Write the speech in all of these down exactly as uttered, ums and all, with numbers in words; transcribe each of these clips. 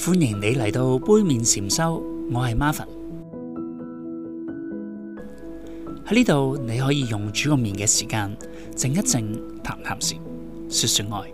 歡迎你嚟到杯麵禪修，我係 Marvin。喺呢度你可以用煮個麵嘅時間靜一靜，談談禪，說說愛。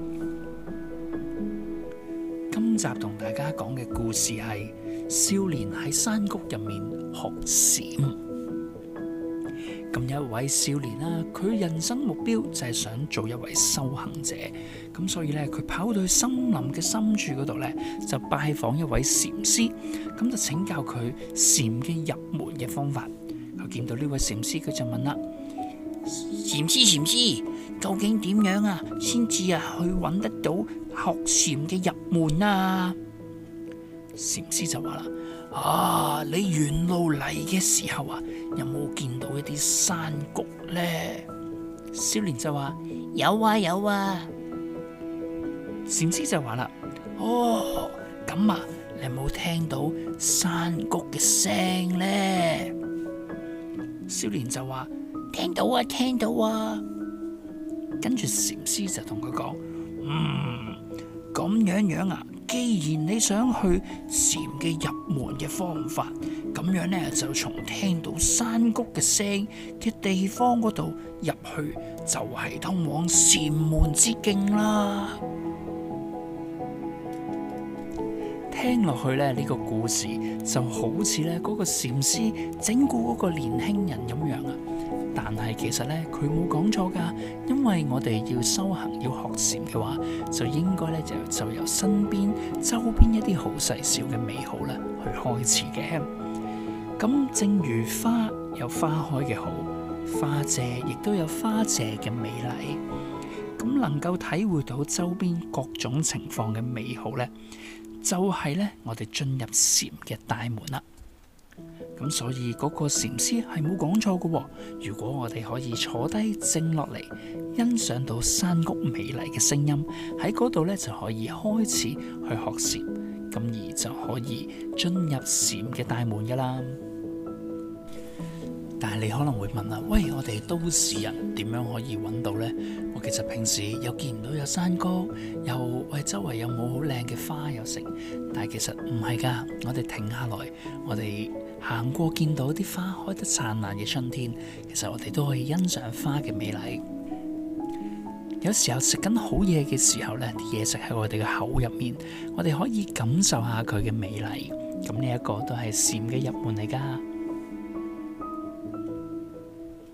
今集同大家講嘅故事係少年喺山谷入面學禪。咁有一位少年啦，佢人生目標就係想做一位修行者，咁所以咧佢跑到去森林嘅深處嗰度咧，就拜訪一位禪師，咁就請教佢禪嘅入門嘅方法。佢見到呢位禪師，佢就問啦：禪師禪師，究竟點樣啊，先至啊去揾得到學禪嘅入門啊？禪師就話啦：啊，你沿路嚟嘅時候啊，有冇見到一啲山谷呢？少年就話：有啊有啊。禪師就話啦：哦，咁啊，你有冇聽到山谷嘅聲呢？少年就話：聽到啊聽到啊。跟住禪師就同佢講：嗯，咁樣樣啊。既然你想去禪嘅入門嘅方法，咁樣呢，就從聽到山谷嘅聲嘅地方嗰度入去，就係通往禪門之徑啦。聽落去呢，呢個故事就好似呢嗰個禪師整蠱嗰個年輕人咁樣啊。但係其實呢，佢冇講錯噶，因為我哋要修行要學禪嘅話，就應該呢就就由身邊周邊一啲好細小嘅美好呢去開始嘅。咁正如花有花開嘅好，花謝亦都有花謝嘅美麗。咁能夠體會到周邊各種情況嘅美好呢，就係呢我哋進入禪嘅大門啦。咁所以嗰個禪師係冇講錯嘅。如果我哋可以坐低靜落嚟，欣賞到山谷美麗嘅聲音，喺嗰度呢就可以開始去學禪，咁而就可以進入禪嘅大門噶啦。但係你可能會問啦，喂，我哋都市人點樣可以揾到呢？我其實平時又見唔到有山谷，又喂周圍有冇好靚嘅花又成，但係其實唔係噶。我哋停下來，我哋行過見到啲花開得燦爛嘅春天，其實我哋都可以欣賞花嘅美麗。有時候食緊好嘢嘅時候呢，啲嘢食喺我哋嘅口入面，我哋可以感受下佢嘅美麗。咁呢一個都係禪嘅入門嚟噶。